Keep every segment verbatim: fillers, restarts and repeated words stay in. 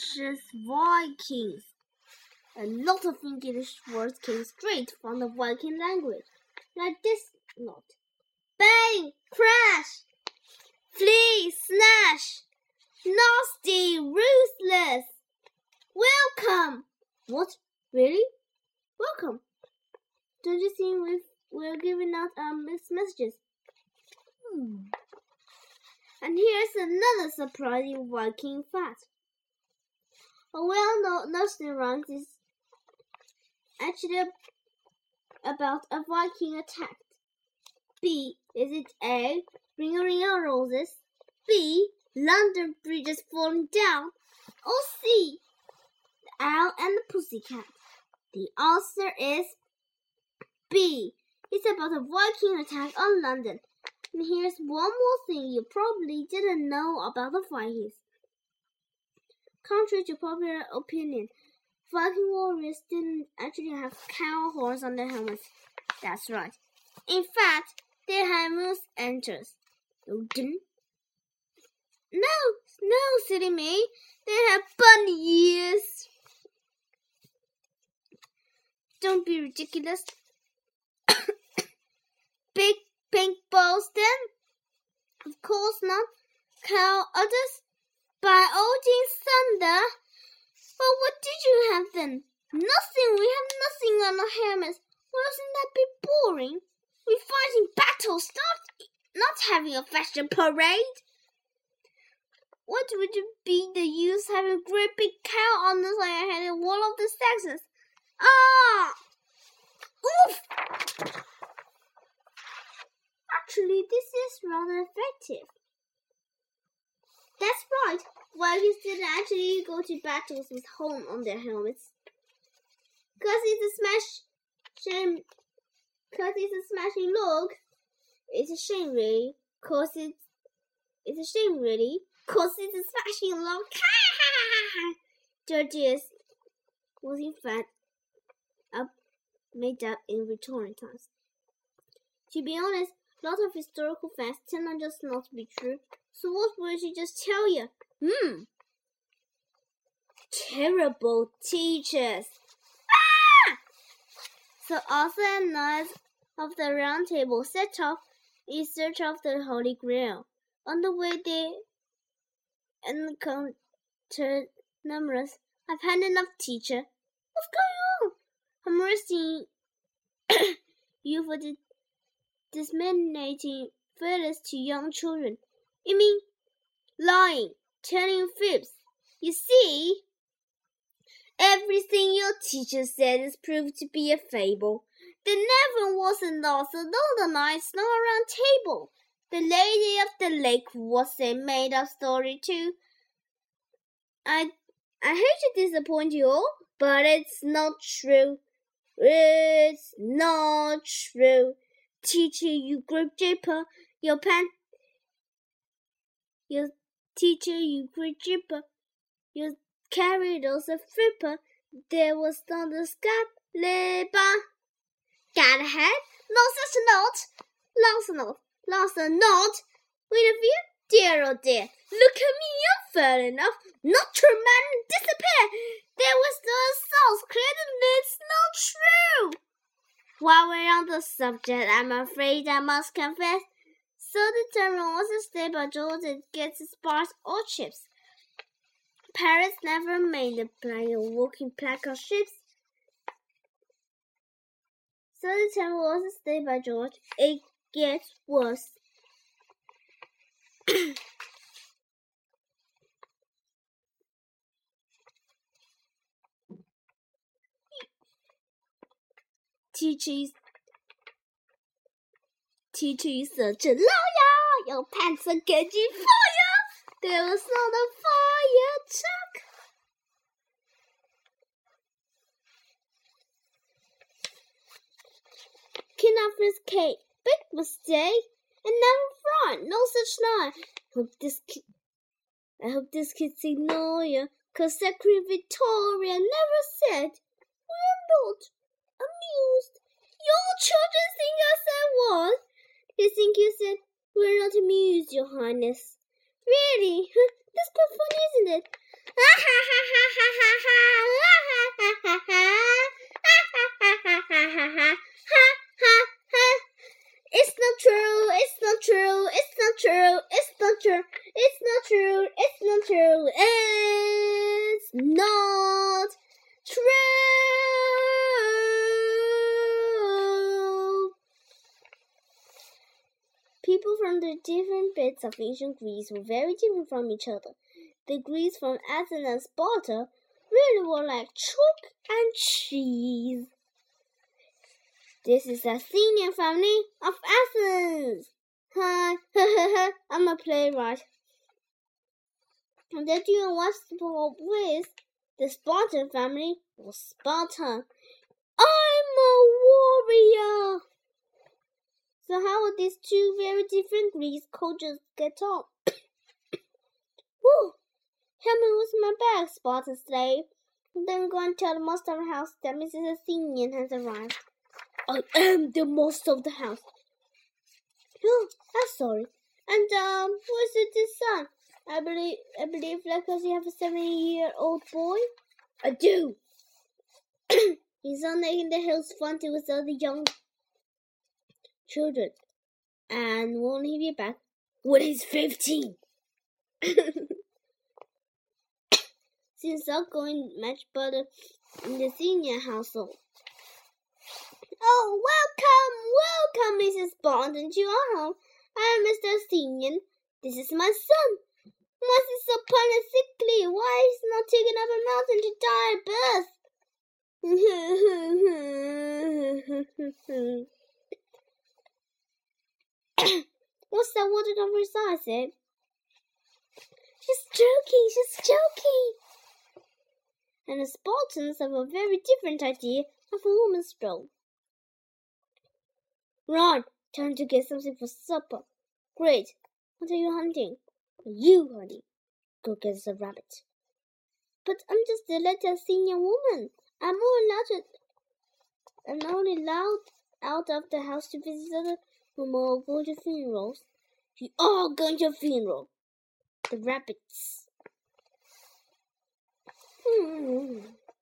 delicious Vikings. A lot of English words came straight from the Viking language, like this note. Bang! Crash! Flee! Snash! Nasty! Ruthless! Welcome! What? Really? Welcome? Don't you think we've, we're giving out our messages? Hmm. And here's another surprising Viking fact. A well-known nursery rhyme is actually about a Viking attack. B. Is it A. Ring a ring of roses? B. London Bridge is falling down? Or C. The Owl and the Pussycat? The answer is B. It's about a Viking attack on London. And here's one more thing you probably didn't know about the Vikings. Contrary to popular opinion, Viking warriors didn't actually have cow horns on their helmets. That's right. In fact, they had moose antlers. No, no, silly me. They had bunny ears. Don't be ridiculous. Big pink balls then? Of course not. Cow udders? By Odin's thunder? Well, what did you have then? Nothing. We have nothing on our helmets. Wasn't that be boring? We fight in battles, not, not having a fashion parade. What would it be the use having a great big cow on the side of your head in one of the Saxons? Ah! Oof! Actually, this is rather effective. That's right. Vikings didn't actually go to battles with horn on their helmets. Cause it's a smash shame. Cause it's a smashing look. It's a shame, really. Cause it's it's a shame, really. Cause it's a smashing look. Georgius was in fact up made up in Victorian times. To be honest, a lot of historical facts tend not just not to be true. So what would she just tell you? Hmm. Terrible teachers. Ah! So Arthur and knights of the Round Table set off in search of the Holy Grail. On the way they encountered numerous. I've had enough, teacher. What's going on? I'm arresting you for the disseminating feathers to young children. You mean lying, telling fibs? You see, everything your teacher said is proved to be a fable. There never was an Arthur nor the knights nor a Round Table. The Lady of the Lake was a made-up story too. I, I hate to disappoint you all, but it's not true. It's not true. Teacher, you grape jipper, your pen. Your teacher, you great jipper, you carried us a flipper. There was not a scab labor. Got ahead? No such note. Lost a note. Lost a note. Wait a few. Dear oh dear. Look at me, you fell enough. Not true, man. Disappear. There was the sauce clear and it's not true. While we're on the subject, I'm afraid I must confess. So determined was to stay by George and get his bars or chips. Parents never made a plan of walking plank of ships. So determined was to stay by George, it gets worse. Teacher, teacher is such a liar. Your pants are catching fire. There was not a fire truck. King Arthur's cake, big mistake, and never fried. No such lie. Hope this kid, I hope this kid's ignore you, 'cause Secretary Victoria never said we're not amused. Your children think I said what? They think you said we're not amused, Your Highness. Really? That's quite funny, isn't it? Ha ha ha ha! found that different bits of ancient Greece were very different from each other. The Greeks from Athens and Sparta really were like chalk and cheese. This is the Athenian family of Athens. Hi, I'm a playwright. And the duo was with the Spartan family was Sparta. I'm a warrior. So how would these two very different Greek cultures get on? Woo! Help me with my bag, Spartan slave. Then go and tell the master of the house that Missus Athenian has arrived. I am the master of the house. Oh, I'm sorry. And um, what's it this son? I believe, I believe, like, because you have a seven-year-old boy. I do. He's on there in the hills, fronting with all the young children, and won't he be back when he's fifteen? Since I'm going much better in the senior household. Oh, welcome, welcome, Missus Spartan, to our home. I am Mister Athenian. This is my son. Why is he so pale and sickly? Why is he not taken up a mountain to die at birth? What's that water over his eyes, eh? She's joking, she's joking. And the Spartans have a very different idea of a woman's role. Right, time to get something for supper. Great. What are you hunting? Are you hunting? Go get us a rabbit. But I'm just a little senior woman. I'm only allowed to, I'm only allowed out of the house to visit other women or go to funerals. You are going to a funeral. The rabbits. Hmm.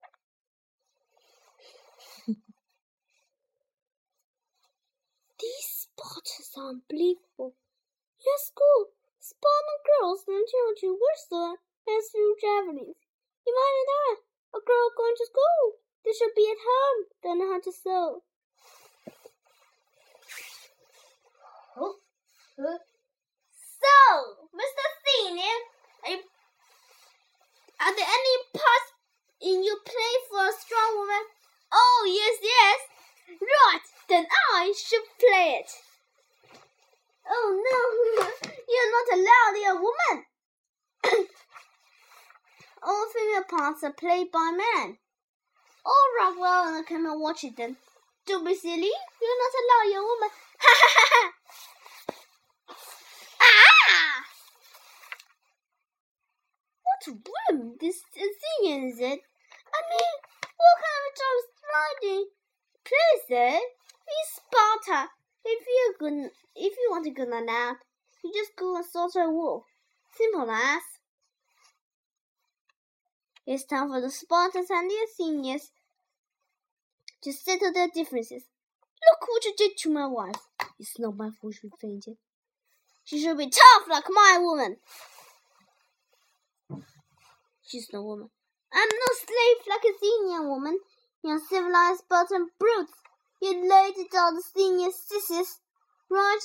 These Spartans are unbelievable. Yes, cool. Spartan girls learn to wrestle and through javelins. Imagine that. A girl going to school. They should be at home. Don't know how to sew. Oh. So, Mister Athenian, are, you, are there any parts in your play for a strong woman? Oh, yes, yes. Right, then I should play it. Oh, no, you're not allowed, you're a woman. All female parts are played by men. All right, well, I come and watch it then. Don't be silly, you're not allowed, you're a woman. Ha ha ha ha! Ah! What room this Athenian is it? I mean, what kind of a job is riding? Please, eh? He's Sparta. If you good, if you want a good nap, you just go and slaughter a wolf. Simple as. It's time for the Spartans and the Athenians to settle their differences. Look what you did to my wife. It's not my fault she fainted. She should be tough like my woman. She's no woman. I'm no slave like a Athenian woman. You're civilized Spartan brutes. You laid it on the senior sissies, right?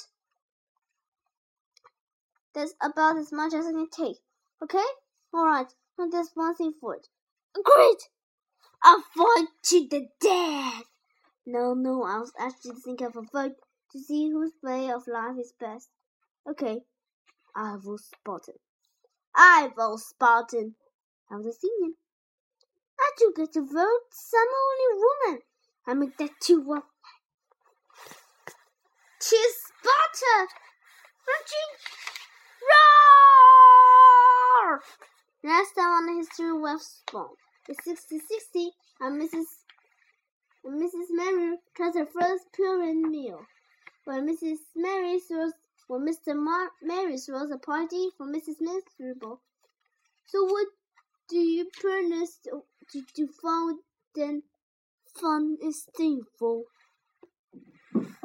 That's about as much as I can take. Okay? Alright. Now there's one thing for it. Great! I'll fight to the death! No, no, I was actually thinking of a vote to see whose way of life is best. Okay, I will Spartan. I will Spartan. I was a senior. I do get to vote. I'm only woman. I make that too well. Cheers, Sparta! Roar! Last time on the history of West Spawn. In sixteen sixty, and Missus and Missus Mary tried her first Purim meal. When Missus Mary throws, when Mister Mar- Mary throws a party for Missus Miserable. So what do you promise to, to, to find then fun is thankful?